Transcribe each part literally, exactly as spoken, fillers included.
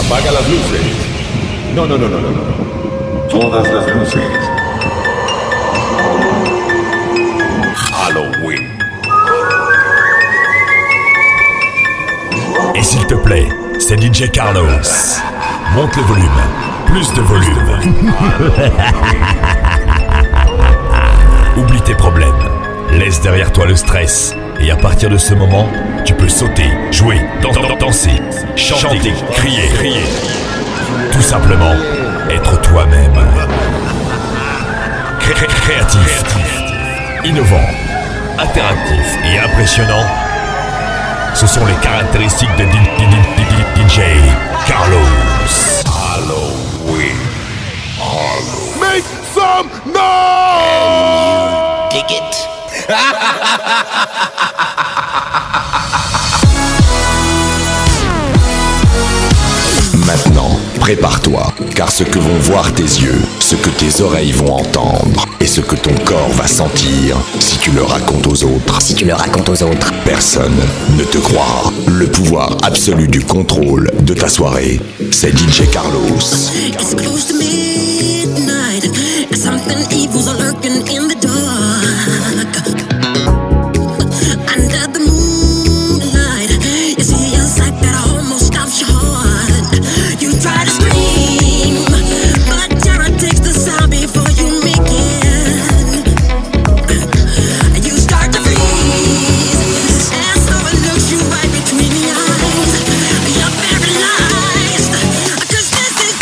Apaga las luces. No, no, no, no, no, no. Todas las luces. Halloween. Et s'il te plaît, c'est D J Carlos. Monte le volume. Plus de volume. Oublie tes problèmes. Laisse derrière toi le stress. Et à partir de ce moment, tu peux sauter, jouer, dan- dan- danser, chanter, chanter crier, crier. Tout simplement, être toi-même. Cré- cré- créatif, innovant, interactif et impressionnant. Ce sont les caractéristiques de D J Carlos. Halloween. Halloween. Make some noise! Dig it. Maintenant, prépare-toi, car ce que vont voir tes yeux, ce que tes oreilles vont entendre, et ce que ton corps va sentir, si tu le racontes aux autres, Si tu le racontes aux autres, personne ne te croira. Le pouvoir absolu du contrôle de ta soirée, c'est D J Carlos. It's close to midnight, and something evil's lurking in the dark. Under the moonlight, you see a sight that almost stops your heart. You try to scream, but terror takes the sound before you make it. You start to freeze, and so it looks you right between the eyes. You're paralyzed, 'cause this is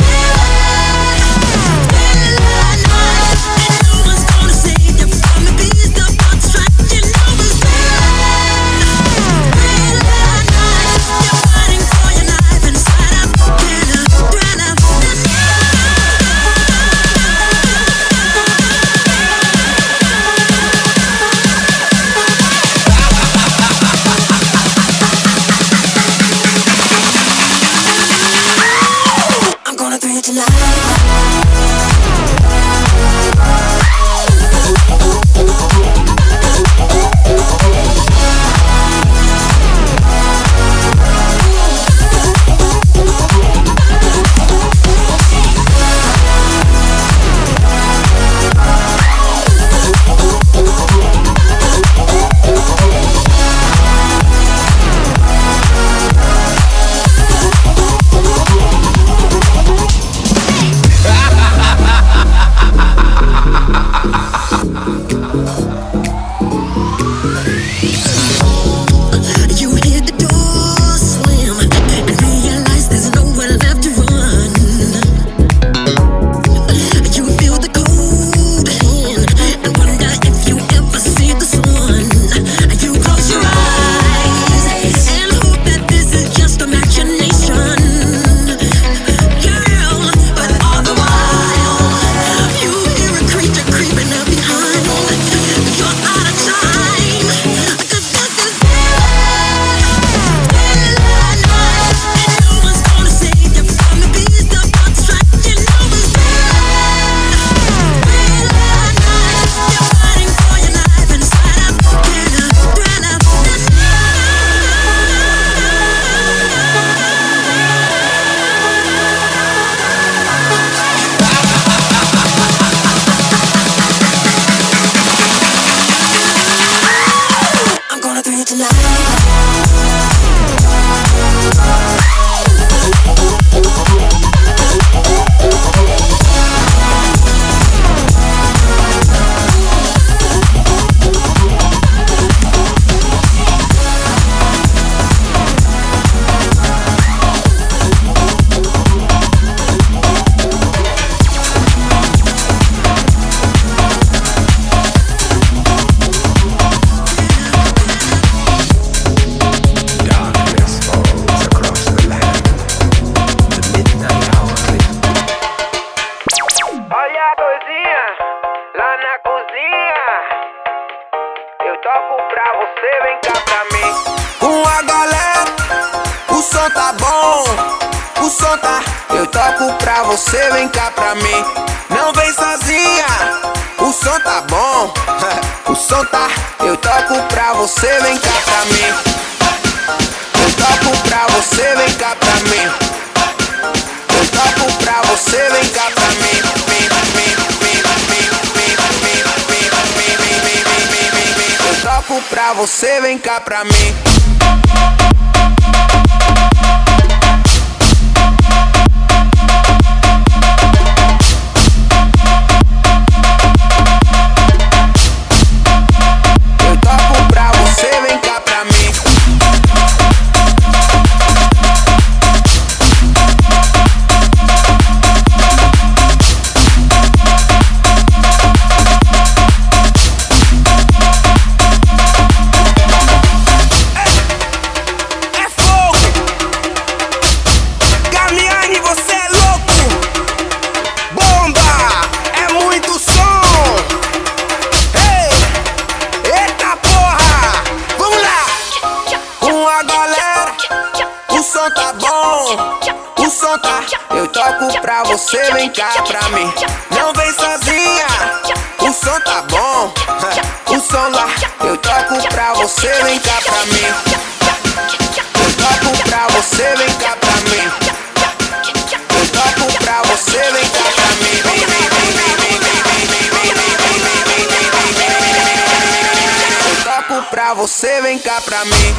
I'm gonna throw you tonight. You hear the door slam and realize there's nowhere left to run. You feel the cold hand and wonder if you ever see the sun. You close your eyes and hope that this is just imagination, girl. But all the while, you hear a creature creeping up behind. You're out of time, 'cause this is I'm gonna throw you tonight. Olha a coisinha lá na cozinha. Eu toco pra você, vem cá pra mim. Com a galera, o som tá bom, o som tá. Eu toco pra você, vem cá pra mim. Não vem sozinha, o som tá bom, o som tá. Eu toco pra você, vem cá pra mim. Eu toco pra você, vem cá pra mim. você, vem cá pra mim. Eu toco pra você, vem cá pra mim. Eu toco pra você, vem cá pra mim. Eu toco pra você, vem cá pra mim. Não vem sozinha, o som tá bom. O som lá, eu toco pra você, vem cá pra mim. Eu toco pra você, vem cá pra mim. Eu toco pra você, vem cá pra mim. Eu toco pra você, vem cá pra mim.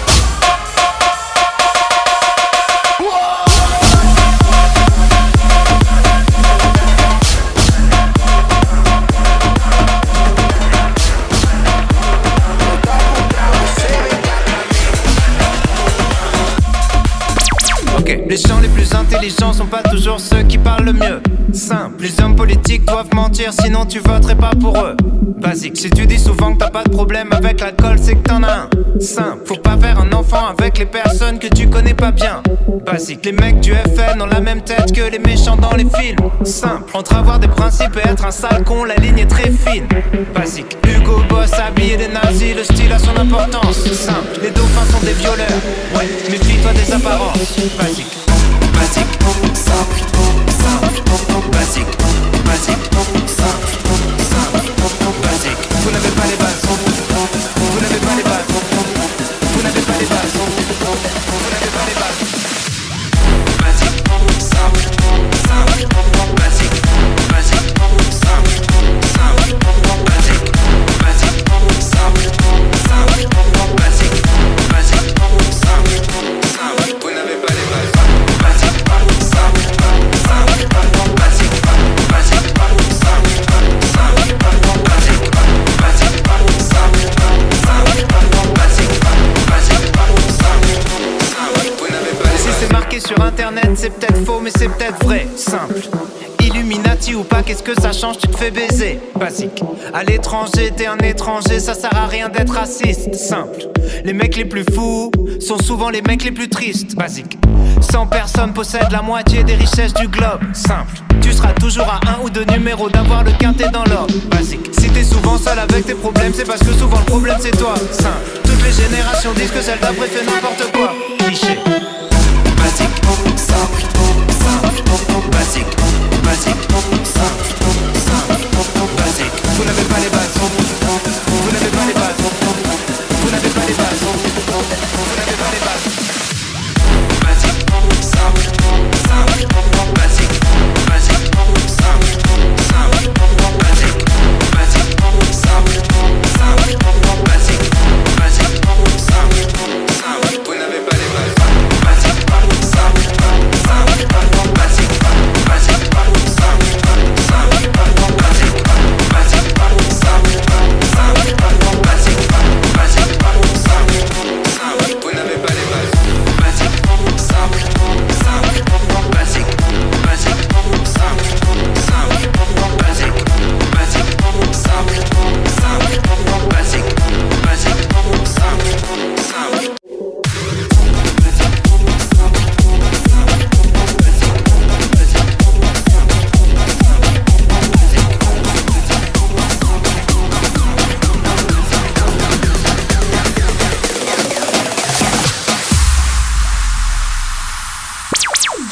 Les gens les plus intelligents sont pas toujours ceux qui parlent le mieux. Simple, les hommes politiques doivent mentir, sinon tu voterais pas pour eux. Basique, si tu dis souvent que t'as pas de problème avec l'alcool, c'est que t'en as un. Simple, faut pas faire un enfant avec les personnes que tu connais pas bien. Basique, les mecs du F N ont la même tête que les méchants dans les films. Simple, entre avoir des principes et être un sale con, la ligne est très fine. Basique, Hugo Boss habillé des nazis, le style a son importance. Simple, les dauphins sont des violeurs. Ouais, méfie-toi des apparences. Basique. Basique, simple, simple, basique, basique, simple, simple, basique. Vous n'avez pas les bases, vous n'avez pas les bases, vous n'avez pas les bases, vous n'avez pas les bases. Basique, simple, simple, basique, basique, simple, simple, basique, basique, simple, simple, basique, basique, simple, simple. Vous n'avez pas les bases. Sur internet, c'est peut-être faux, mais c'est peut-être vrai. Simple. Illuminati ou pas, qu'est-ce que ça change, tu te fais baiser. Basique. À l'étranger, t'es un étranger, ça sert à rien d'être raciste. Simple. Les mecs les plus fous sont souvent les mecs les plus tristes. Basique. cent personnes possèdent la moitié des richesses du globe. Simple. Tu seras toujours à un ou deux numéros d'avoir le quintet dans l'ordre. Basique. Si t'es souvent seul avec tes problèmes, c'est parce que souvent le problème c'est toi. Simple. Toutes les générations disent que celle d'après fait n'importe quoi. Cliché. Basique, simple, simple, basique, basique, simple, simple, basique. Vous n'avez pas les bases, vous n'avez pas les bases, vous n'avez pas les bases, vous n'avez pas les bases. Basique, simple, simple, basique, basique, simple, simple, basique, basique, simple, simple, basique, basique, simple, simple. Vous n'avez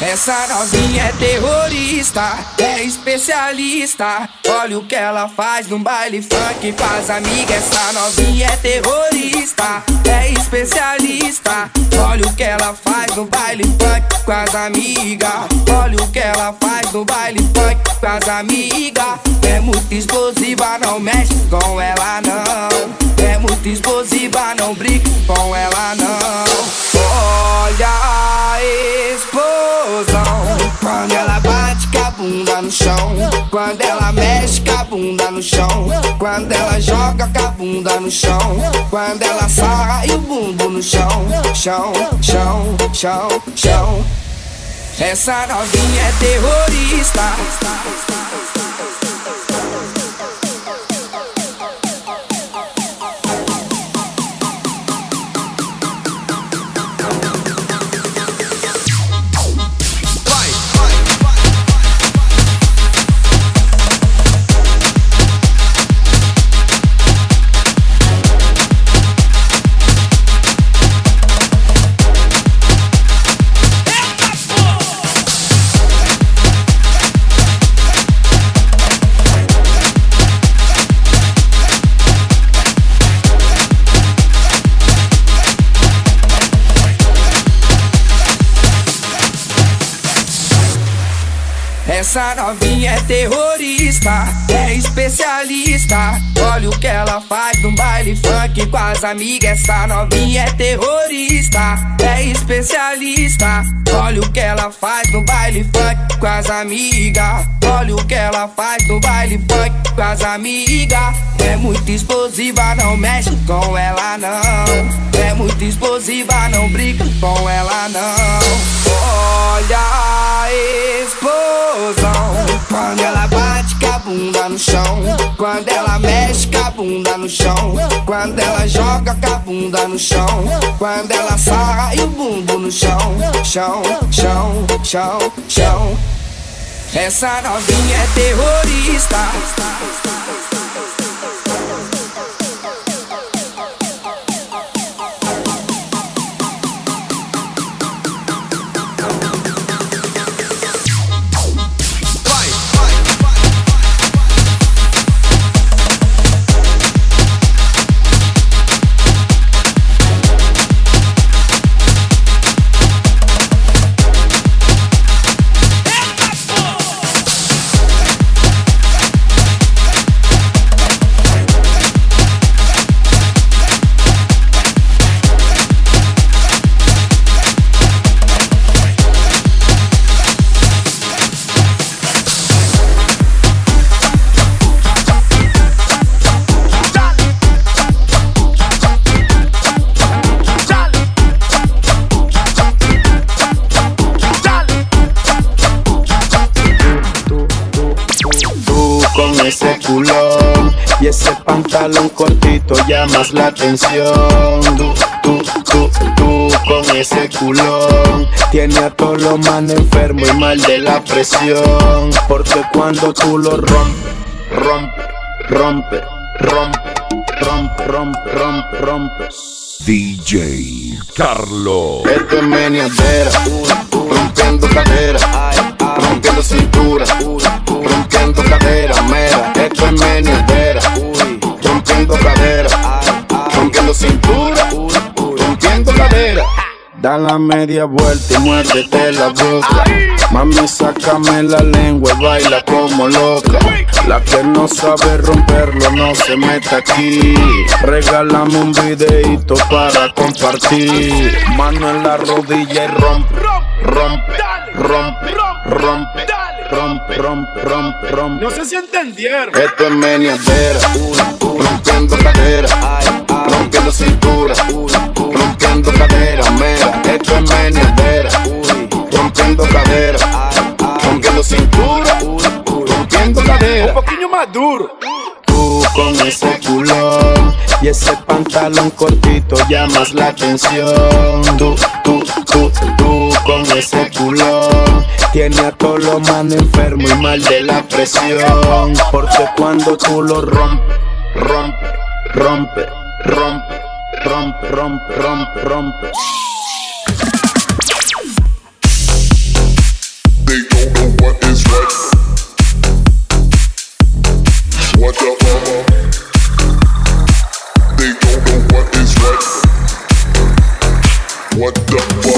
Essa novinha é terrorista, é especialista. Olha o que ela faz no baile funk com as amigas. Essa novinha é terrorista, é especialista. Olha o que ela faz no baile funk com as amigas. Olha o que ela faz no baile funk com as amigas. É muito explosiva, não mexe com ela não. É muito explosiva, não brinca com ela não. Olha a explosão quando ela bate com a bunda no chão, quando ela mexe com a bunda no chão, quando ela joga com a bunda no chão, quando ela sarra e o bumbum no chão, chão, chão, chão, chão. Essa novinha é terrorista. Essa novinha é terrorista, é especialista. Olha o que ela faz no baile funk com as amigas. Essa novinha é terrorista, é especialista. Olha o que ela faz no baile funk com as amigas. Olha o que ela faz no baile funk com as amigas. É muito explosiva, não mexe com ela não. É muito explosiva, não brinca com ela não. Olha a explosão quando ela bate com a bunda no chão, quando ela mexe com a bunda no chão, quando ela joga com a bunda no chão, quando ela sarra e o bumbum no chão, chão, chão, chão, chão. Essa novinha é terrorista. Ese culón y ese pantalón cortito llamas la atención. Tú, tú, tú, tú con ese culón tiene a todos los manes enfermos y mal de la presión. Porque cuando tú lo rompes, rompe, rompe, rompe, rompe, rompe, rompe, rompes. D J Carlo. Esto es meneadera, rompiendo cadera, rompiendo cintura, rompiendo cadera, mera. Esto es meneadera, rompiendo cadera, rompiendo cintura, rompiendo cadera. Da la media vuelta y muérdete la boca. Mami, sácame la lengua y baila como loca. La que no sabe romperlo no se meta aquí. Regálame un videito para compartir. Mano en la rodilla y rompe, rompe, rompe, rompe, rompe, rompe, rompe, rompe. No sé si entendieron. Esto es meneadera, rompiendo cadera, rompiendo cintura, rompiendo cadera, mera. Esto es meneadera, rompiendo cadera, rompiendo cintura, rompiendo cadera. Un poquillo más duro. Tú con ese culón y ese pantalón cortito llamas la atención. Tú, tú, tú, tú con ese culón tiene a todos los manes enfermos y mal de la presión. Porque cuando tú lo rompes, rompe, rompe, rompe, rompe, rompe, rompe, rompe.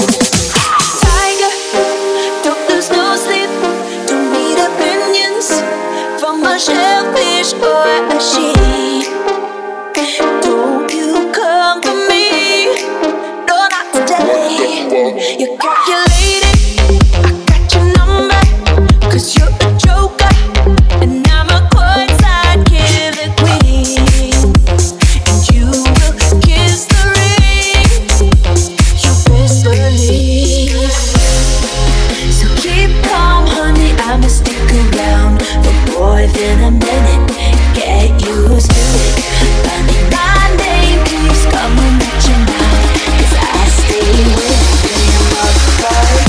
Tiger, don't lose no sleep. Don't need opinions from a shellfish or a sheep. Don't you come for me? No, not today. You're calculating. I got your number. 'Cause you're a joker. And I'm a courtside killer queen. And you will kiss the ring. You best believe. So keep calm, honey. I'ma stick around for more than a minute. Get used to it. Funny, my name keeps coming at your mouth. 'Cause I stay with you all the time.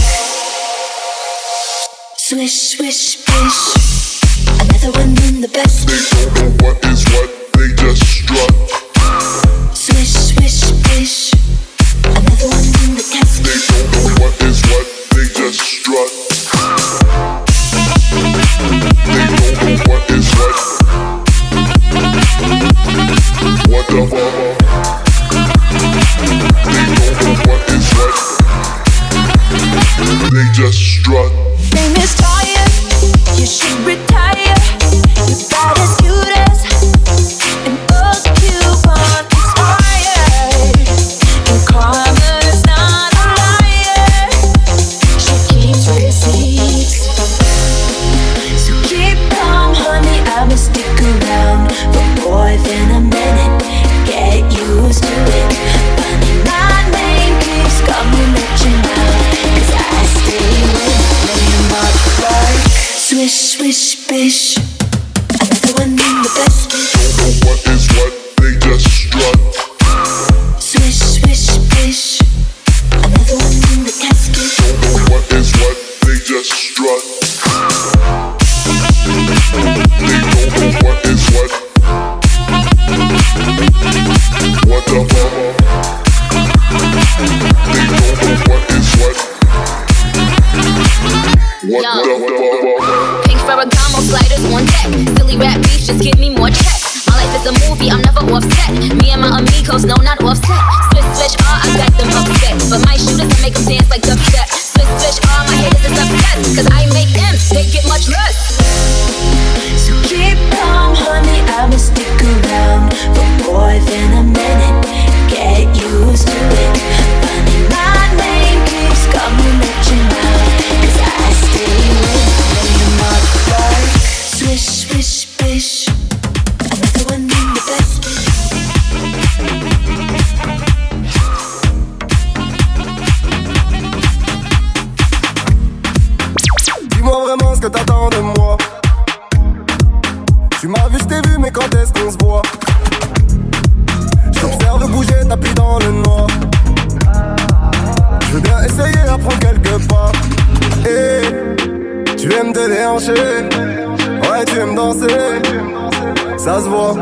Swish, swish, bish. Another one in the basket. They don't know what is what, they just strut. Swish, swish, bish. Another one in the casket. They don't know what is what, they just strut. They don't know what is what. What the fuck? They don't know what is what. They just strut. Name is tired. You should retire. You're about as cute as an old coupon expired. And karma's not a liar. She keeps receipts. So keep calm, honey. I'ma stick around for more than a minute. Get used to it. Funny, my name keeps coming at your mouth. 'Cause I stay with you, my heart. Swish, swish, bish. Another one in the basket. Don't know what is what, they just strut. Swish, swish, bish. Another one in the casket. Don't know what is what, they just strut. They don't know what is what. What the fuck? They don't know what is what. What Yo. the fuck? Pink Ferragamo sliders on deck. Silly rap beef, just give me more checks. My life is a movie, I'm never offset. Me and my amigos, no, not offset. Switch, switch, ah, I got them upset. But my shooters, I make them dance like dubstep. Switch, switch, ah, my haters is upset. 'Cause I make them, they get much less. So keep calm, honey. I'ma stick around for more than a minute. Get used to it. Funny, my name keeps coming at your mouth. 'Cause I stay with you, my heart. Swish, swish, bish. Another one in the basket. Dis-moi vraiment ce que t'attends de moi. Tu m'as vu, je t'ai vu, mais quand est-ce qu'on se voit? Je t'observe bouger, tapis dans le noir. Je veux bien essayer d'apprendre quelques pas. Et tu aimes te déhancher. Ouais, tu aimes danser. Ça se voit.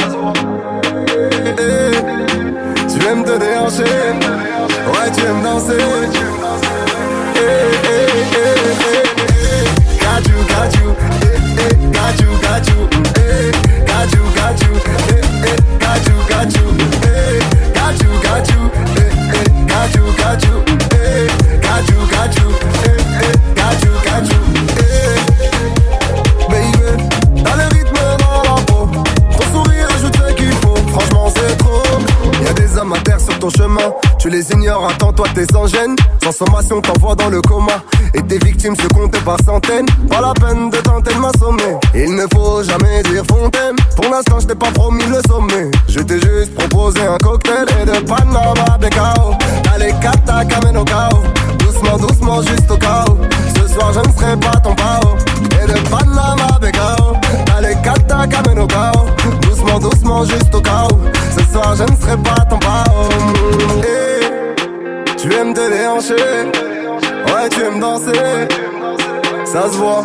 Et tu aimes te déhancher. Ouais, tu aimes danser. Eh, eh, eh, eh, eh. Got you, got you. Eh, eh, got you, got you. Eh, got you, got you. Eh, eh, got you, got you. Eh, got you, got you. Eh, eh, got you, got you. Eh, got you, got you. Eh, eh, got you, got you. Eh, baby, t'as le rythme dans la peau. Ton sourire ajoute ce qu'il faut. Franchement, c'est trop. Y'a des hommes à terre sur ton chemin. Tu les ignores, attends-toi, t'es sans gêne. Sans sommation, t'envoies dans le coma. Et tes victimes se comptent par centaines. Pas la peine de tenter de m'assommer. Il ne faut jamais dire fontaine. Pour l'instant, je t'ai pas promis le sommet. Je t'ai juste proposé un cocktail et de Panama Becao. T'as les kata kamen au chaos. Doucement, doucement, juste au chaos. Ce soir, je ne serai pas ton pao. Et de Panama Becao. T'as les kata kamen au chaos. Doucement, doucement, juste au chaos. Ce soir, je ne serai pas ton pao. Et tu aimes te déhancher. Ouais, tu aimes danser. Ça se voit.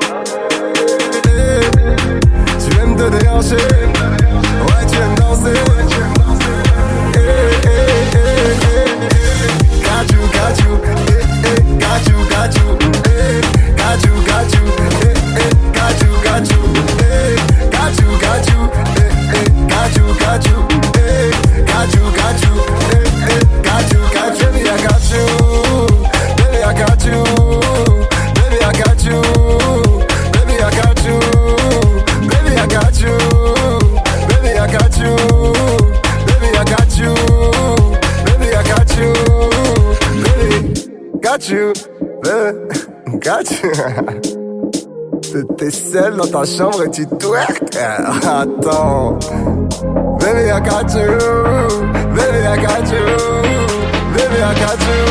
Eh, tu aimes te déhancher. Ouais, tu aimes danser. Eh, eh, eh, eh, eh. Got you, got you. Eh, eh, got you, got you. Eh, got you, got you. Eh, eh, got you, got you. Eh, got you, got you. Eh, eh, got you, got you. Eh, got you, got you. Eh, eh, got you, got you. Baby, I got you. got you, baby, got you. T'es seul dans ta chambre et tu twerk. Attends, baby, I got you, baby, I got you, baby, I got you.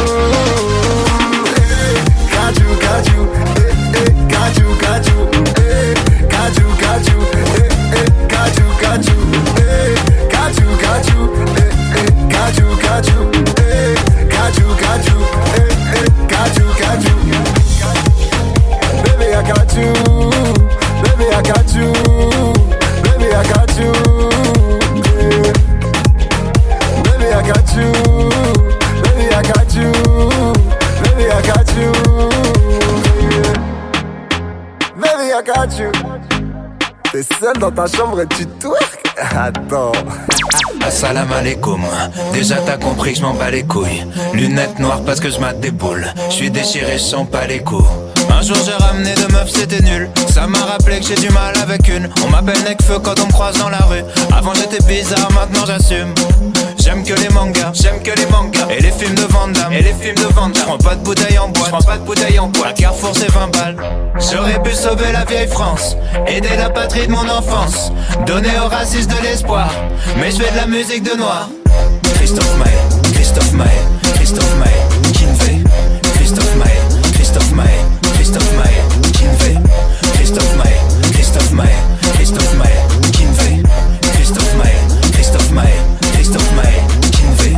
Hey, got you, got you, hey, hey, got you, got you, hey, got you, got you, hey, hey, got you, got you, hey, got you, got you, hey, hey, got you, got you, hey, got you, got you, hey, hey, got you, got you. Baby, I got you, baby, I got you, baby, I got you, yeah. Baby, I got you, baby, I got you, baby, I got you, yeah. Baby, I got you. T'es seul dans ta chambre et tu twerk. Attends. Assalam alaikum. Déjà t'as compris que je m'en bats les couilles. Lunettes noires parce que je mate des boules. Je suis déchiré, je sens pas les coups. Un jour j'ai ramené deux meufs, c'était nul. Ça m'a rappelé que j'ai du mal avec une. On m'appelle Necfeu quand on me croise dans la rue. Avant j'étais bizarre, maintenant j'assume. J'aime que les mangas, j'aime que les mangas. Et les films de Van Damme, et les films de Van Damme. J'prends pas de bouteille en boîte, j'prends pas de bouteille en boîte. À Carrefour c'est vingt balles. J'aurais pu sauver la vieille France, aider la patrie de mon enfance, donner aux racistes de l'espoir. Mais je fais de la musique de noir. Christophe Maé, Christophe Maé, Christophe Maé, Kinvey. Christophe Maé, Christophe Maé, Christophe Maé, Kinvey. Christophe Maé, Christophe Maé, Christophe Maé, Kinvey. Christophe Maé, Christophe Maé, Christophe Maé, Kinvey.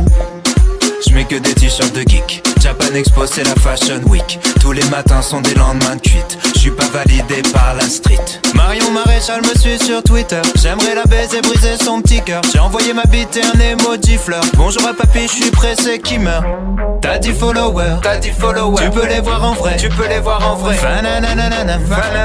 J'mets que des t-shirts de geek. Japan Expo c'est la Fashion Week. Tous les matins sont des lendemains de cuite. J'suis pas validé par la street. Marion Maréchal me suit sur Twitter. J'aimerais la baiser, briser son petit cœur. J'ai envoyé ma bite et un emoji fleur. Bonjour à papy, j'suis pressé qui meurt. T'as dix followers, t'as dix followers. Tu peux les voir en vrai, tu peux les voir en vrai. Fananananam,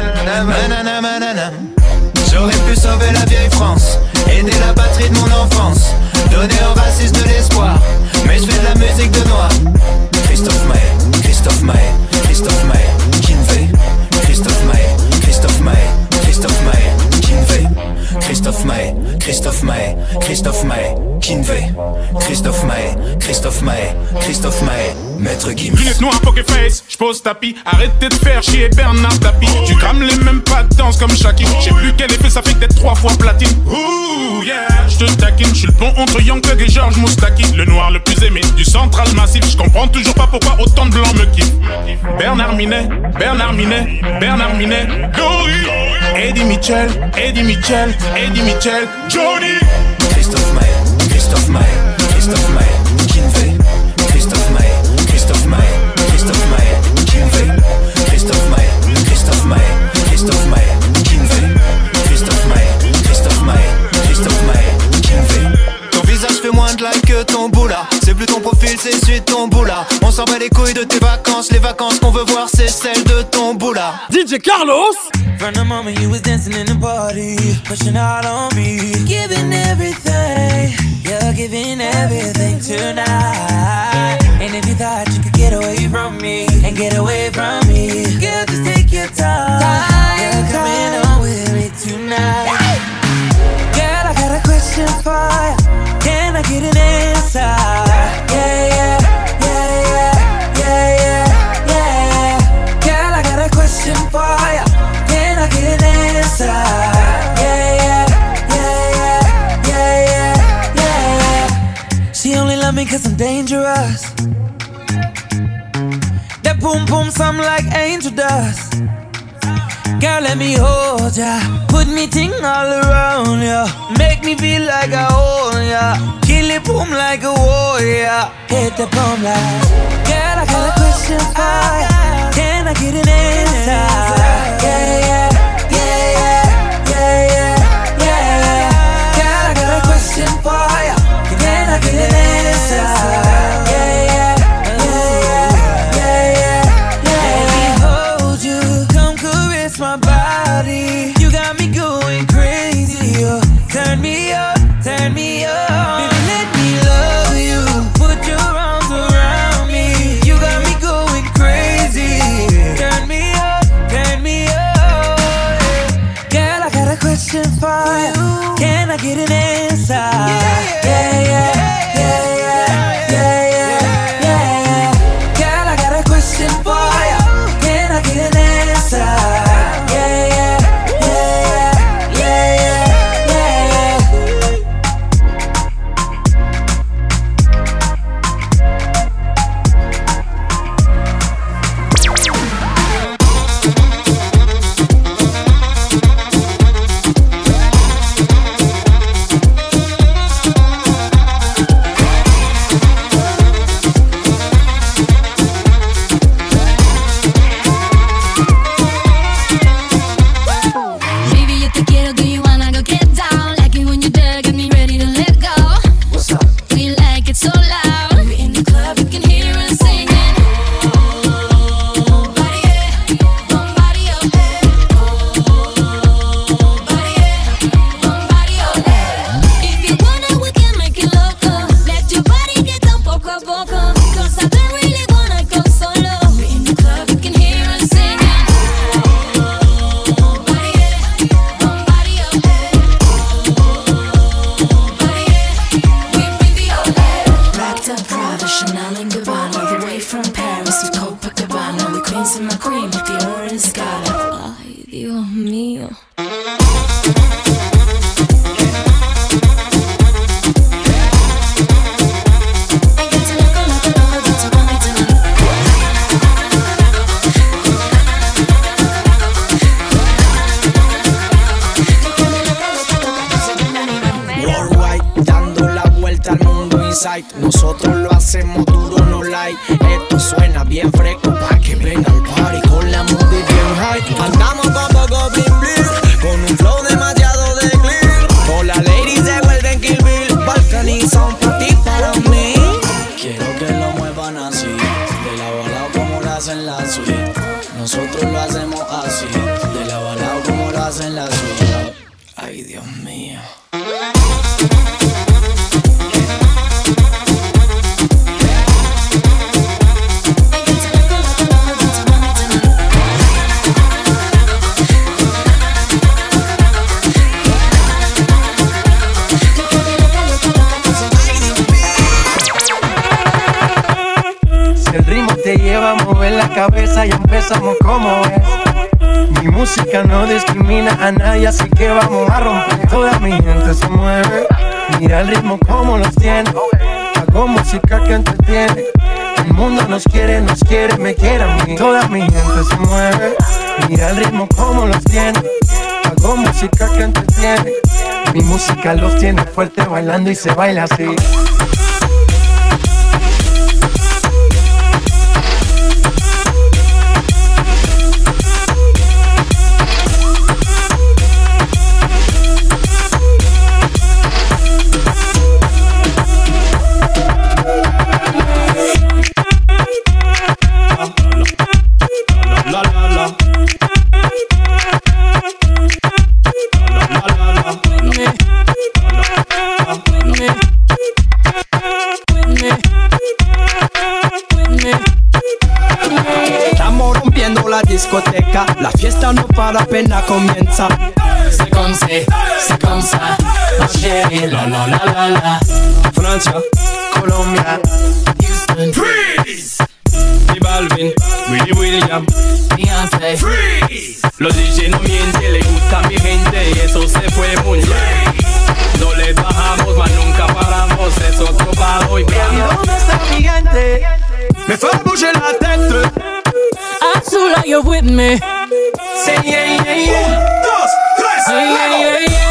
fananananam. J'aurais pu sauver la vieille France, aider la patrie de mon enfance, donner aux racistes de l'espoir. Mais je fais de la musique de noir. Christophe Maé, Christophe Maé, Christophe Maé, Kinvey. Christophe Maé, Christophe Maé, Christophe Maé, Kinvey. Christophe Maé, Christophe Maé, Christophe Maé, Kinvey. Christophe Maé, Christophe Maé, Christophe Maé, Maître Gims. Lunettes noires, poker face, j'pose tapis. Arrêtez de faire chier Bernard Tapie. Tu crames les mêmes pas de danse comme Shaki. J'sais plus quel effet ça fait d'être trois fois platine. Ouh yeah, j'te taquine. J'suis le pont entre Young Thug et George Moustaki. Le noir le plus aimé du central massif. J'comprends toujours pas pourquoi autant de blancs me kiffent. Bernard Minet, Bernard Minet, Bernard Minet, Dory. Eddie Mitchell, Eddie Mitchell, Eddie Mitchell, Johnny. Christophe Maé, Christophe Maé, Christophe Maé, Kinvey. Christophe Maé, Christophe Maé, Christophe Maé, Kinvey. Christophe Maé, Christophe Maé, Christophe Maé, Kinvey. Christophe Maé, Christophe Maé, Christophe Maé, Kinvey. Ton visage fait moins de like que ton boula. C'est plus ton profil, c'est celui de ton boula. On s'en bat les couilles de tes vacances. Les vacances qu'on veut voir, c'est celles de ton boula. D J Carlos. From the moment you was dancing in the party, pushing out on me, giving everything, you're giving everything tonight. And if you thought you could get away from me, and get away from me, girl, just take your time. You're coming on with me tonight. Girl, I got a question for you. Can I get an answer? Yeah, yeah, yeah, yeah, yeah, yeah, yeah. Girl, I got a question for you. Can I get an answer? Yeah, yeah, yeah, yeah, yeah, yeah, yeah. She only love me cause I'm dangerous. That boom boom sound like angel dust. Girl, let me hold ya. Put me ting all around ya. Make me feel like I own ya. Kill it boom like a warrior. Hit the boom like. Girl, I got a question for ya. Can I get an answer? Yeah, yeah. For ya, can I get an answer? Yeah, yeah, yeah, yeah, yeah, yeah. Let me hold you, come caress my body. You got me going crazy. Oh. Turn me up, turn me up. Baby, let me love you. Put your arms around me. You got me going. It's a Copacabana with queens in my cream, the orange scala. Ay, Dios mío. Nosotros lo hacemos duro, no like. Esto suena bien fresco pa' que venga al party con la movie bien high. Andamos con poco bling bling, con un flow demasiado de clear. Todas las ladies se vuelven Kill Bill, balcanizan pa' ti, para mí. Quiero que lo muevan así, de lado a lado como lo hacen la suite. Nosotros lo hacemos así, de lado a lado como lo hacen la suite. Ay, Dios mío. Te lleva a mover la cabeza y empezamos como es. Mi música no discrimina a nadie, así que vamos a romper. Toda mi gente se mueve, mira el ritmo como los tiene. Hago música que entretiene. El mundo nos quiere, nos quiere, me quiere a mí. Toda mi gente se mueve, mira el ritmo como los tiene. Hago música que entretiene. Mi música los tiene fuerte bailando y se baila así. Discoteca, la fiesta no para, apenas comienza. C'est comme c'est, c'est comme ça, ma chérie, la la la la la. Francia, Colombia, Houston, freeze. Y Balvin, Willy William, Beyoncé, freeze. Los D J no mienten, le gusta a mi gente y eso se fue muy bien. No le bajamos, mas nunca paramos, es otro palo y blanco. ¿Y dónde está mi gente? Me fue a bouger la tête. Azula, you're with me. Say yeah, yeah, yeah. Un, dos, tres, yeah, yeah, yeah, yeah.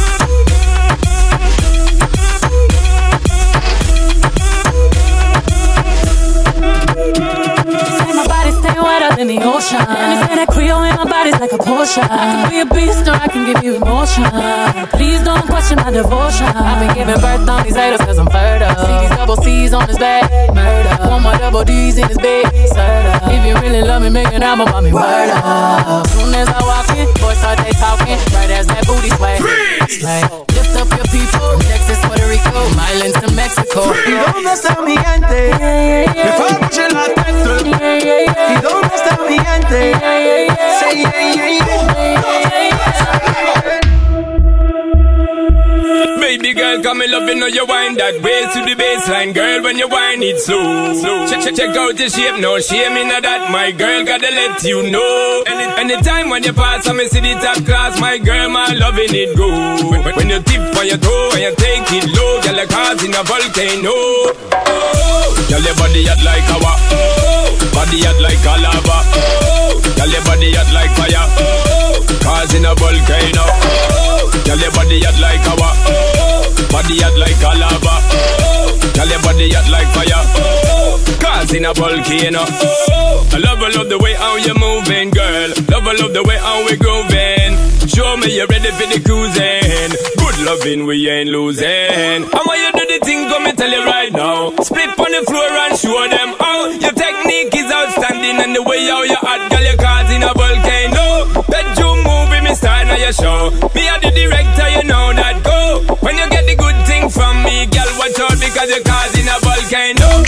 Say my body stay wetter than the ocean. And it's in a Creole and my body's like a potion. I can be a beast or I can give you emotion. Please don't question my devotion. I've been giving birth on these haters cause I'm fertile. See these double C's on his back, murder. One more double D's in his bed, serta. If you really love me, make an album about me, word up. Soon as I walk in, boys start they talking. Right as that booty sway. Like, lift up your people, Texas, Puerto Rico, Islands to Mexico. ¿Y dónde está mi gente? Me fue a bouger la tête. ¿Y dónde está mi gente? Say yeah, yeah, yeah. Baby girl, come and love you, know you wind that waist to the baseline. Girl, when you wind it slow, slow. Check, check, check out your shape, no shame in that. My girl, gotta let you know. Any, anytime when you pass, I me see the top class. My girl, my loving it go. When, when you tip on your toe and you take it low, girl, like causing a volcano. Oh, girl, your body hot like lava. Oh, body hot like a lava. Oh, girl, your body hot like fire. Oh, causing a volcano. Oh, girl, your body hot like lava. Oh, body hot like a lava. Oh, girl, your body hot like fire. Oh, causing a volcano. Oh, I love, I love the way how you're moving, girl. Love, I love the way how we're grooving. Show me you're ready for the cruising. Good loving, we ain't losing. How you do the thing, come and tell you right now. Split on the floor and show them how. Your technique is outstanding and the way how you hot, girl, you're causing a volcano. Bedroom movie, me style now your show. Me are the director, you know that go. When you get the good thing from me, girl, watch out because you're causing a volcano.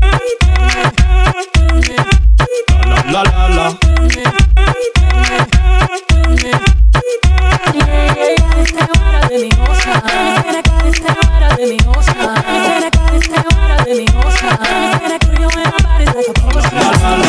La la la la. La la la.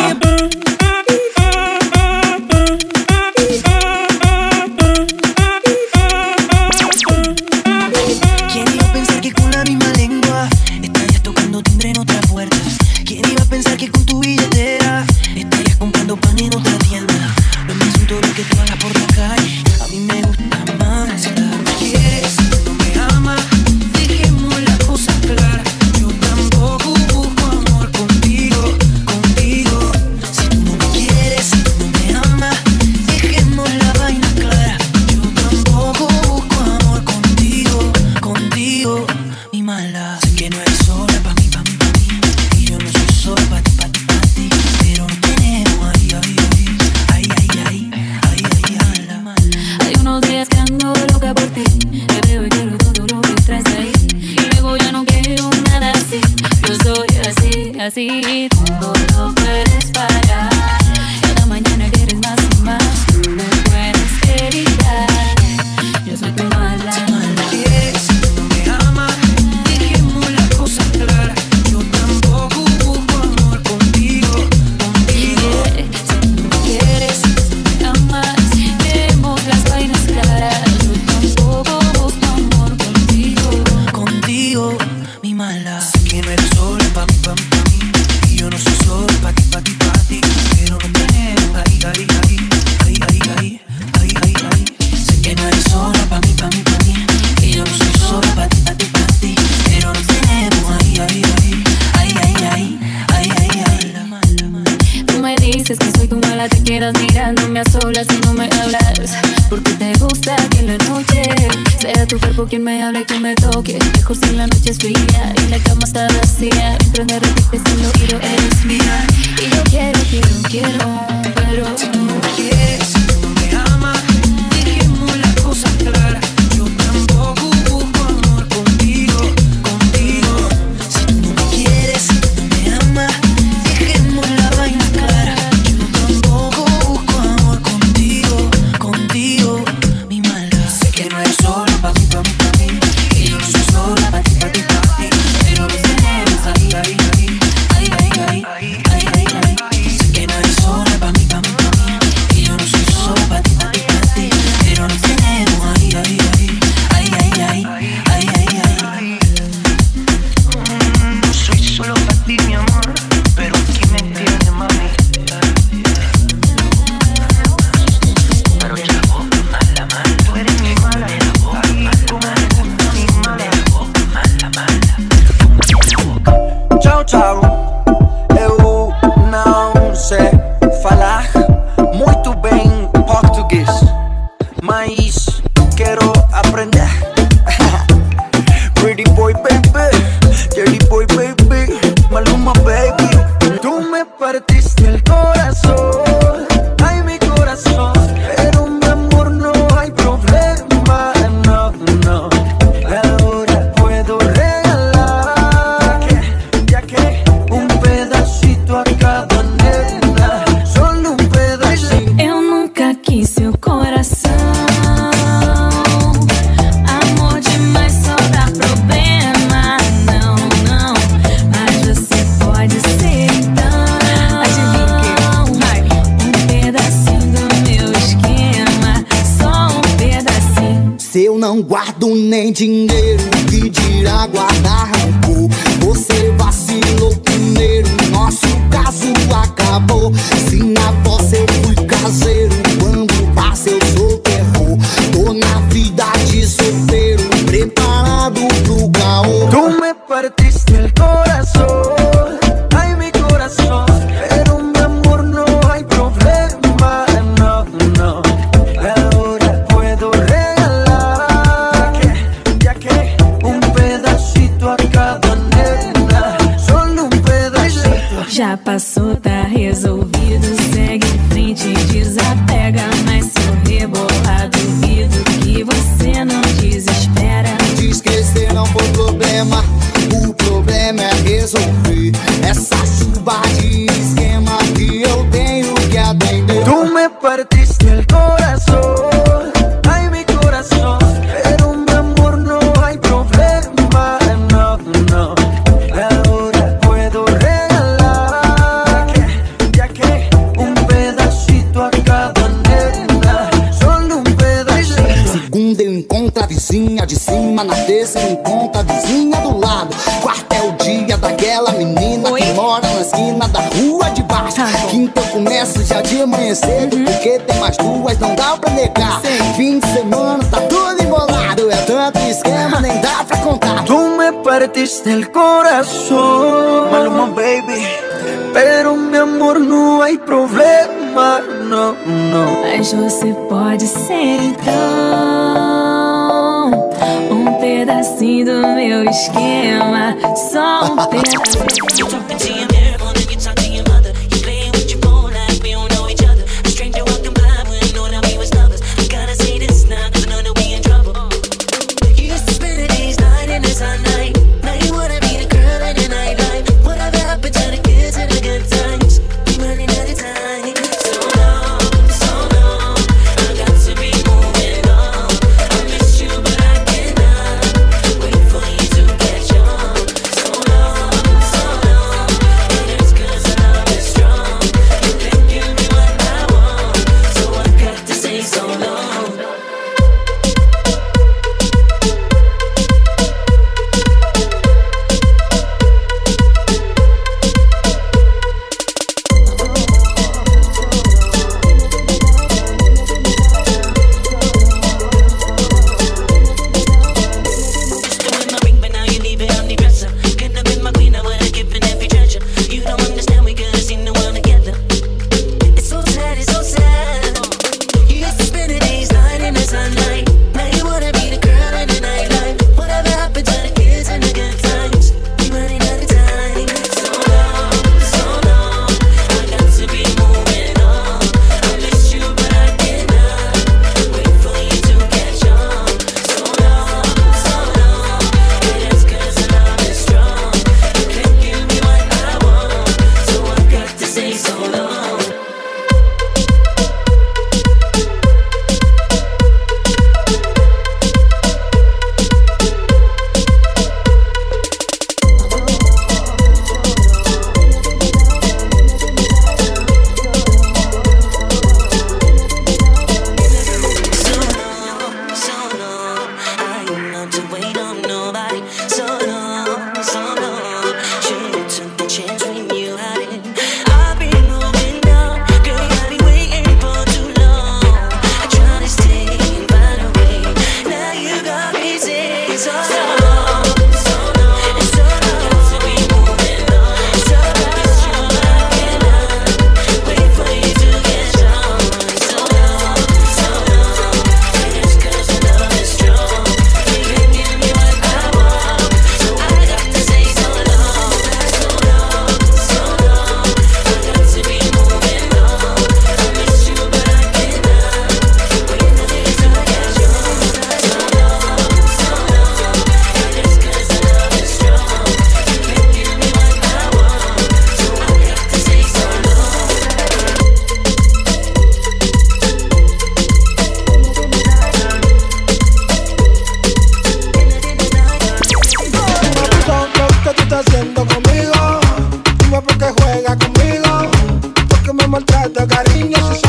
dices que soy tu mala, te quedas mirándome a solas y no me hablas. Porque te gusta que en la noche sea tu cuerpo quien me hable y que me toque. Mejor si la noche es fría y la cama está vacía. Mientras me repites en el oído eres mía. Y yo quiero, quiero, quiero, pero si tú no me quieres, si tú no me amas, dejemos las cosas claras. Yo tampoco busco amor contigo, contigo. Si tú no me quieres, si tú no me amas, dejemos la vaina clara. Yo tampoco busco amor contigo, contigo. Mi maldad, sé que no eres solo pa' mí, pa' mí, pa' mí. Que yo no soy sola pa' ti, pa' ti, pa' ti. Pero lo tenemos ahí, ahí, ahí, ahí, ahí, ahí, ahí, ahí, ahí. Sé que no eres sola pa' mí, pa' mí, pa' mí. Que yo no soy solo pa' ti, pa' ti, pa' ti. Pero lo tenemos ahí, ahí, ahí, ahí, ahí, ahí, ahí, ahí, ahí. No soy solo pa' ti, mi amor, pero aquí me entiendes, mami. Pero ya vos, mala, mala, tú eres mi mala. Como me gusta mi mala, mala, mala. Tchau, tchau. Eu não sei falar muito bem português, mas quero aprender. Pretty boy, baby, dirty boy, baby, Maluma, baby. Tú me partiste el corazón, ay, mi corazón. Pero mi amor, no hay problema, no, no. Ahora puedo regalar, ya que un pedacito a cada nena, solo un pedacito. Eu nunca quis seu coração. Amor demais só dá problema. Não, não, mas você pode ser então. Adivinha que vai um pedacinho do meu esquema. Só um pedacinho. Se eu não guardo nem dinheiro, que dirá guardar rancor? Você vacilou primeiro, nosso caso acabou. Se na vossa eu fui caseiro, quando passa eu sou terror. Tô na vida de solteiro, preparado pro caô. Tú me partiste el corazón, ay, mi corazón. Pero mi amor, no hay problema, no, no. Ahora puedo regalar, ya que un pedacito a cada nena, solo un pedacito. Já passou, tá resolvido. Segue em frente, desapega. Mas se eu rebolar, duvido que você não desespera. De esquecer não foi problema, o problema é resolver essa chuva de esquema que eu tenho que atender. Tú me partiste el corazón, ay, mi corazón. Pero mi amor, no hay problema, no, no. Ahora puedo regalar, ya que un pedacito a cada nena, solo un pedacito. Segunda eu encontro a vizinha de cima, na terça eu encontro a vizinha do lado. Quarta é o dia daquela menina que mora na esquina da rua de baixo. Quinta eu começo já de manhã cedo, porque tem mais duas, não dá pra negar. Fim de semana tá tudo embolado, é tanto esquema, nem dá pra contar. Tú me partiste el corazón, Maluma, baby. Pero mi amor, no hay problema, no, no. Mas você pode ser então um pedacinho do meu esquema. Só um pedacinho. So long,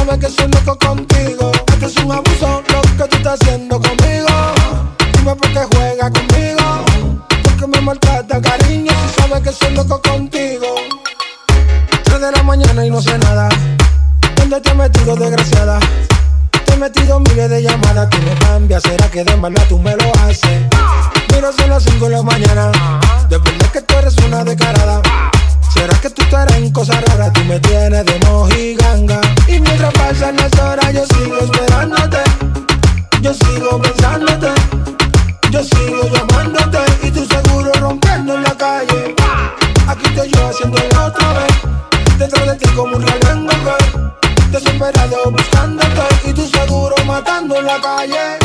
sabes que soy loco contigo. Esto es un abuso lo que tú estás haciendo conmigo. Dime por qué juega conmigo, porque me maltrata, cariño, si sabes que soy loco contigo. Tres de la mañana y no sé nada. ¿Dónde te has metido, desgraciada? Te he metido miles de llamadas, tú no cambias, ¿será que de maldad tú me lo haces? Miro son las cinco de la mañana, de verdad que tú eres una descarada. ¿Será que tú estarás en cosas raras? Tú me tienes de mojiganga. Y mientras pasan las horas yo sigo esperándote, yo sigo pensándote, yo sigo llamándote y tú seguro rompiendo en la calle. Aquí estoy yo haciendo el otra vez, dentro de ti como un reloj en Google, desesperado buscándote y tú seguro matando en la calle.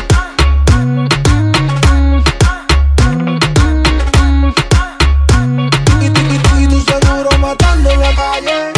Y tú, y tú, y tú seguro matando en la calle.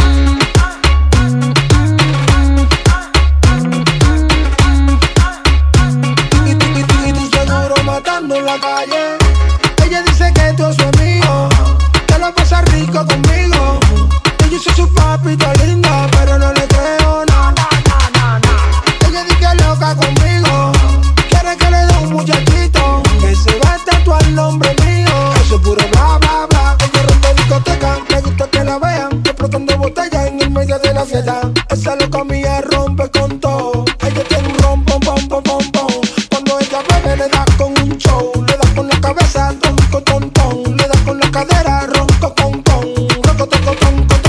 Y tú, y tú, y tú seguro matando en la calle. Ella dice que tú es mío, que lo pasa rico conmigo. Yo soy su papita linda, pero no le creo, no, no, no, no. Ella dice que loca conmigo, quiere que le dé un muchachito que se va a tatuar el nombre mío. Eso es puro bla, bla, bla. Ella rompe discoteca, me gusta que la vean explotando botellas en el medio de la fiesta. Esa loca mía rompe con todo. Ella tiene un rom, pom, pom, pom, pom, pom. Cuando ella bebe le da con un show, le da con la cabeza, ronco, ton, ton. Le da con la cadera, ronco, con, con. Ronco, toco, ton, ton.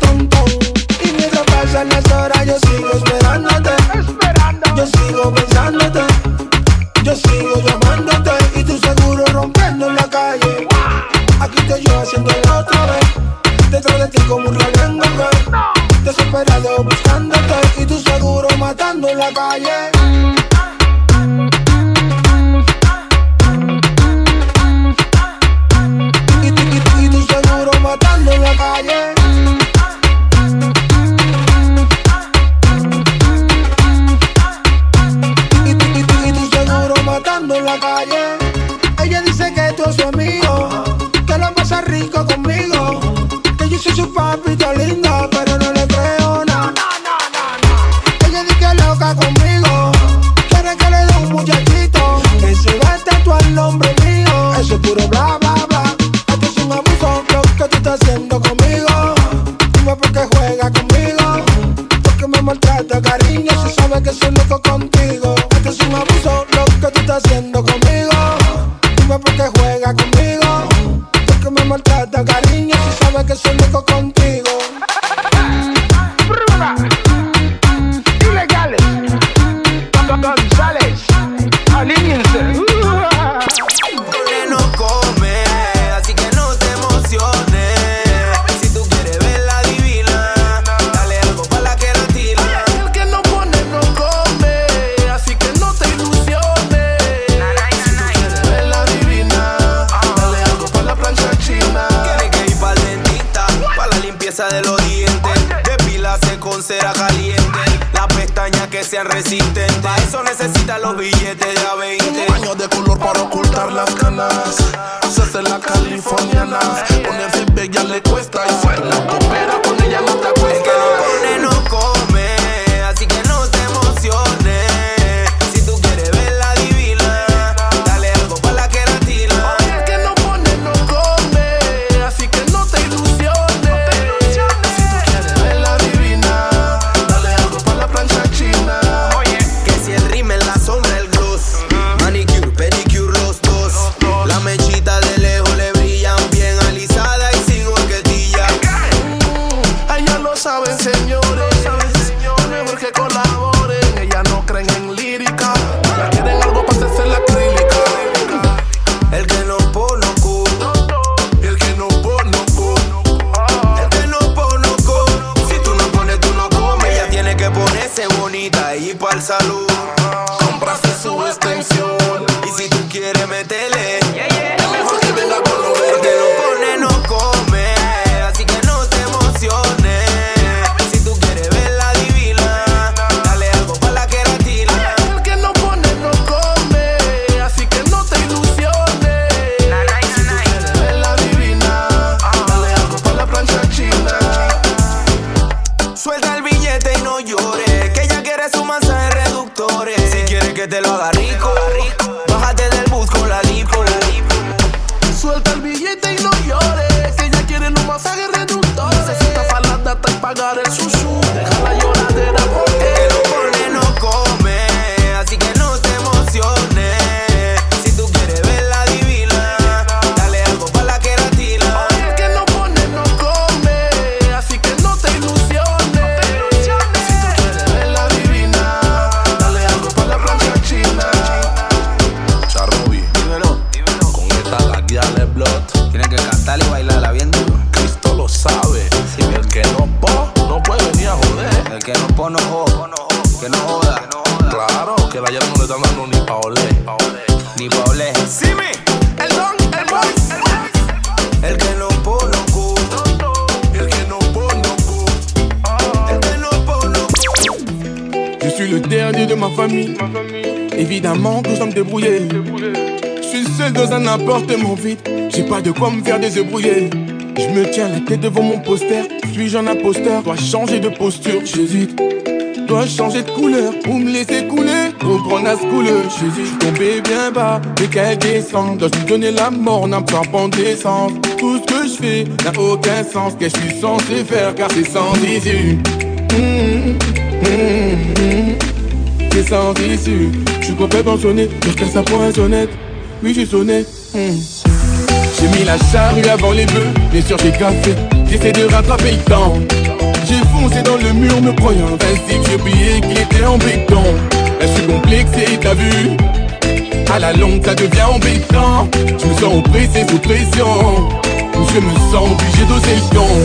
Las horas yo sigo esperándote, yo sigo pensándote, yo sigo llamándote y tú seguro rompiendo en la calle. Aquí estoy yo haciendo la otra vez, dentro de ti como un reloj en Google, desesperado buscándote y tú seguro matando en la calle. Y tú, y tú, y tú seguro matando en la calle. En la calle. Ella dice que tú eres su amigo, que lo pasa rico conmigo, que yo soy su papita linda, pero no le creo, no, no, no, no. Ella dice que loca conmigo, quiere que le dé un muchachito que se va a tatuar el nombre mío. Eso es puro bla, bla, bla. Esto es un abuso lo que tú estás haciendo conmigo. Dime por qué juega conmigo, porque me maltrata, cariño, si sabes que soy loco contigo. Esto es un abuso lo que tú estás haciendo conmigo. Dime por qué juega conmigo, porque me maltrata, cariño, si sabes que soy loco contigo. Ilegales, González, alíñense. No come, así que no te emociones. Si tú quieres ver la divina, dale algo pa' la queratina. El que no pone no come, así que no te ilusiones. Si tú quieres ver la divina, dale algo pa' la plancha china. Tiene que ir pa'l dentista, pa' la limpieza de los dientes. Depilarse con cera caliente, las pestañas que sean resistentes. Pa' eso necesita los billetes de a veinte. Baño de color para ocultar las canas, se hace la californiana. Ponerse bella le cuesta y si tú la cooperas con ella no te acuestas. El que no pone no come, así que no te emociones. Si tú quieres ver la divina, dale algo pa' la queratina. El que no pone no come, así que no te ilusiones. Si tú quieres ver la divina, dale algo pa' la plancha china. Que si el rímel, la sombra, el gloss, manicure, pedicure, los dos. La mechita de lejos le brillan bien alisada y sin horquetilla. Ellas lo saben, señores, es mejor que colaboren. Ellas no creen en lírica, ellas quieren algo para hacerse la acrílica. El que no pone co, el que no pone co, el que no pone co. Si tú no pones, tú no comes. Ella tiene que ponerse bonita y ir pa'l salud. Comprarse su extensión. Y si tú quieres meterle, es mejor que venga con lo el que verde. no pone no come, así que no te emociones. Si tú quieres ver la divina, dale algo pa' la queratina. El que no pone no come, así que no te ilusiones. Si tú quieres ver la divina, dale algo pa' la plancha china. Suelta el billete y no llores. doctores. Si quieres que te lo haga rico, bájate del bus con la lipo. Suelta el billete y no llores, que ella quiere un masaje reductor. Necesita falda hasta pagar el sushi. Deja la lloradera porque el hombre no come, así que no te emociones. Si tú quieres verla divina, dale algo pa' la queratina. Oye, que no pone, no come, así que no te ilusiones. Si tú quieres verla divina, dale algo pa' la plancha china. Charrobi, dímelo, con esta la guía de blood. Tienes que cantar y bailarla bien duro. Cristo lo sabe, sí, el que no po, no puede venir a joder. El que no po, no joda, que no joda. Claro, que la llave no le están dando ni pa' oler, ni pa' oler. Sí, me, el don, el boy, el que no po, no cu. El que no po, no cu. El que no po, no cu. Je suis le dernier de ma famille. Évidemment que je dois me débrouiller. Je suis seul dans un appartement vide. J'ai pas de quoi me faire désébrouiller. Je me tiens la tête devant mon poster. Suis-je un imposteur? Dois changer de posture, j'hésite. Dois changer de couleur ou me laisser couler. Ou prendre à ce couleur, j'hésite. J'suis tombé bien bas, mais qu'elle descend. Dois-je lui donner la mort, n'a pas en descente. Tout ce que je fais n'a aucun sens. Qu'est-ce que je suis censé faire car c'est sans issue. Mmh, mmh, mmh. C'est sans issue. J'suis complètement sonné, je casse ça pour un sonnette. Oui, j'ai sonné. Mmh. J'ai mis la charrue avant les bœufs, bien sûr j'ai gaffé. J'essaie de rattraper le temps. J'ai foncé dans le mur me croyant invincible. J'ai oublié qu'il était en béton. Là je suis complexé, t'as vu. À la longue ça devient embêtant. Je me sens oppressé sous pression. Je me sens obligé d'oser le ton.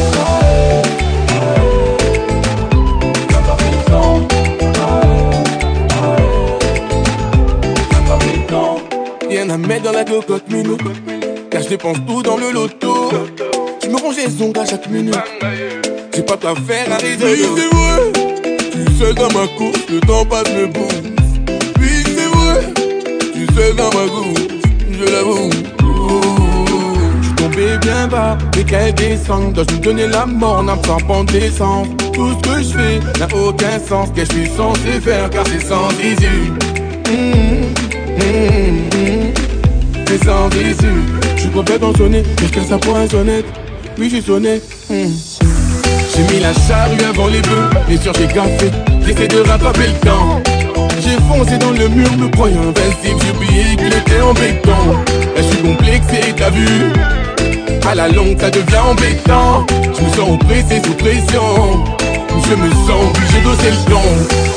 Rien à mettre dans la cocotte minute, car je dépense tout dans le loto. Je me range les ongles à chaque minute. J'ai pas quoi faire à raison. Oui c'est vrai, je suis seul dans ma course, le temps passe me booste. Oui c'est vrai, je suis seul dans ma course, je l'avoue. Je suis tombé bien bas, mais qu'elle descend. Dois-je lui donner la mort, n'a pas en descente. Tout ce que je fais n'a aucun sens. Qu'est-ce que je suis censé faire car c'est sans issue. Mmh, mmh, mmh. C'est sans issue. Je suis complètement sonné, je casse ça pour un sonnette. Oui j'ai sonné. Mmh. J'ai mis la charrue avant les bœufs, bien sûr j'ai gaffé. J'essaie de rattraper le temps. J'ai foncé dans le mur me croyant invincible. J'ai oublié qu'il était en béton. Là je suis complexé, t'as vu. À la longue ça devient embêtant. Je me sens oppressé sous pression. Je me sens obligé d'oser le ton.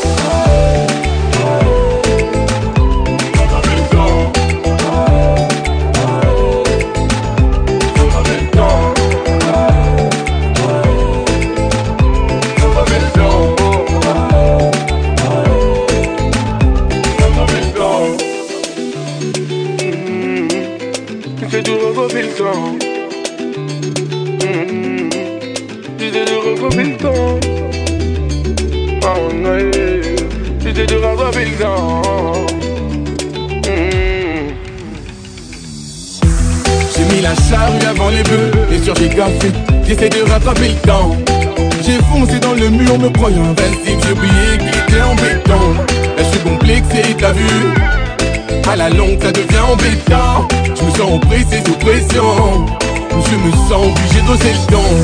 J'essaie de regrouper le temps. Mmh. J'essaie de regrouper le temps. Oh non, j'essaie de rattraper le temps. Mmh. J'ai mis la charrue avant les bœufs, bien sûr j'ai gaffé. J'essaie de rattraper le temps. J'ai foncé dans le mur me croyant invincible. J'ai oublié qu'il était en béton. Là je suis complexé, t'as vu. À la longue ça devient embêtant. Je me sens oppressé sous pression. Je me sens obligé d'oser le ton.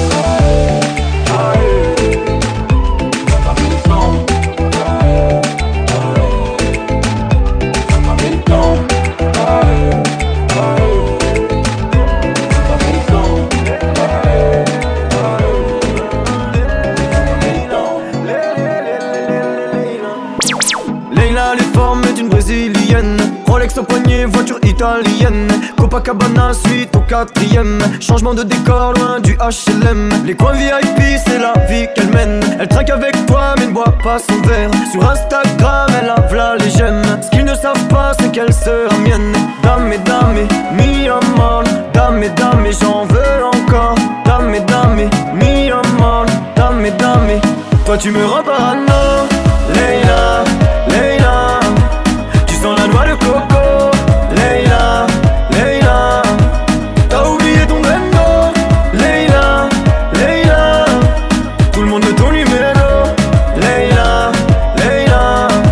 Leila, les formes d'une brésilienne. Rolex au poignet, voiture italienne. Copacabana, suite au quatrième. Changement de décor, loin du H L M. Les coins V I P, c'est la vie qu'elle mène. Elle trinque avec toi, mais ne boit pas son verre. Sur Instagram, elle a v'là les j'aime. Ce qu'ils ne savent pas, c'est qu'elle sera mienne. Dame et dame, mi amor. Dame et dame, j'en veux encore. Dame et dame, mi amor. Dame et dame, toi tu me rends parano. Leila, Leila, tu sens la noix de coco. Leila, Leila, t'as oublié ton bendo. Leila, Leila, tout le monde veut ton numéro. Leila, Leila,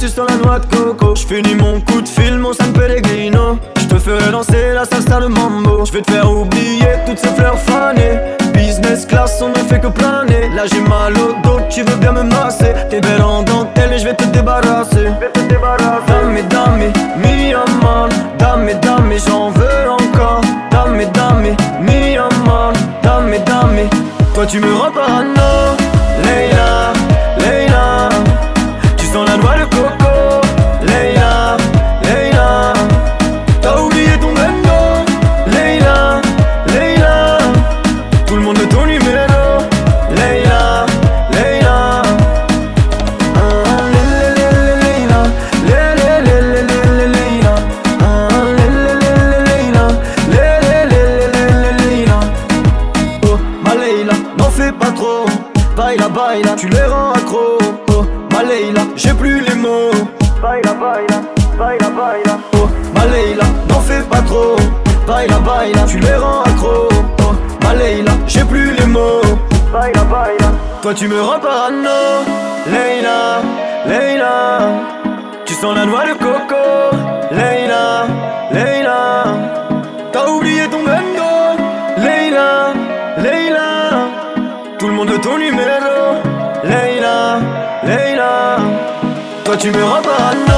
tu sens la noix de coco. J'finis mon coup de fil, mon San Pellegrino. J'te ferai danser la salsa, le mambo. J'vais te faire oublier toutes ces fleurs fanées. Business class, on ne fait que planer. Là j'ai mal au dos, tu veux bien me masser. T'es belle en dentelle et j'vais te débarrasser. Dame, dame, mi amor. Dame, dame, j'en veux encore. Dame, dame, mi amor. Dame, dame, toi tu me rends parano. Leila, Leila, tu sens la noix de coco. Leila, Leila, t'as oublié ton bendo. Leila, Leila, tout le monde veut ton numéro. Leila, Leila, ah, le, le, le, le, Leila, le, le, le, le, le, le, Leila, ah, le, le, le, le, Leila, le, le, le, le, le, Leila. Oh, ma Leila, n'en fais pas trop. Baila, baila, tu les rends accro. Oh, ma Leila, j'ai plus les mots. Baila, baila, baila, baila. Oh, ma Leila, n'en fais pas trop. Baila, baila, tu les rends accro. Oh, ma Leila, j'ai plus les mots. Baila, baila, toi tu me rends parano. Leila, Leila, tu sens la noix de coco. Leila, Leila, t'as oublié ton bendo. Leila, Leila, tout le monde veut ton numéro. Leila, Leila, toi tu me rends parano.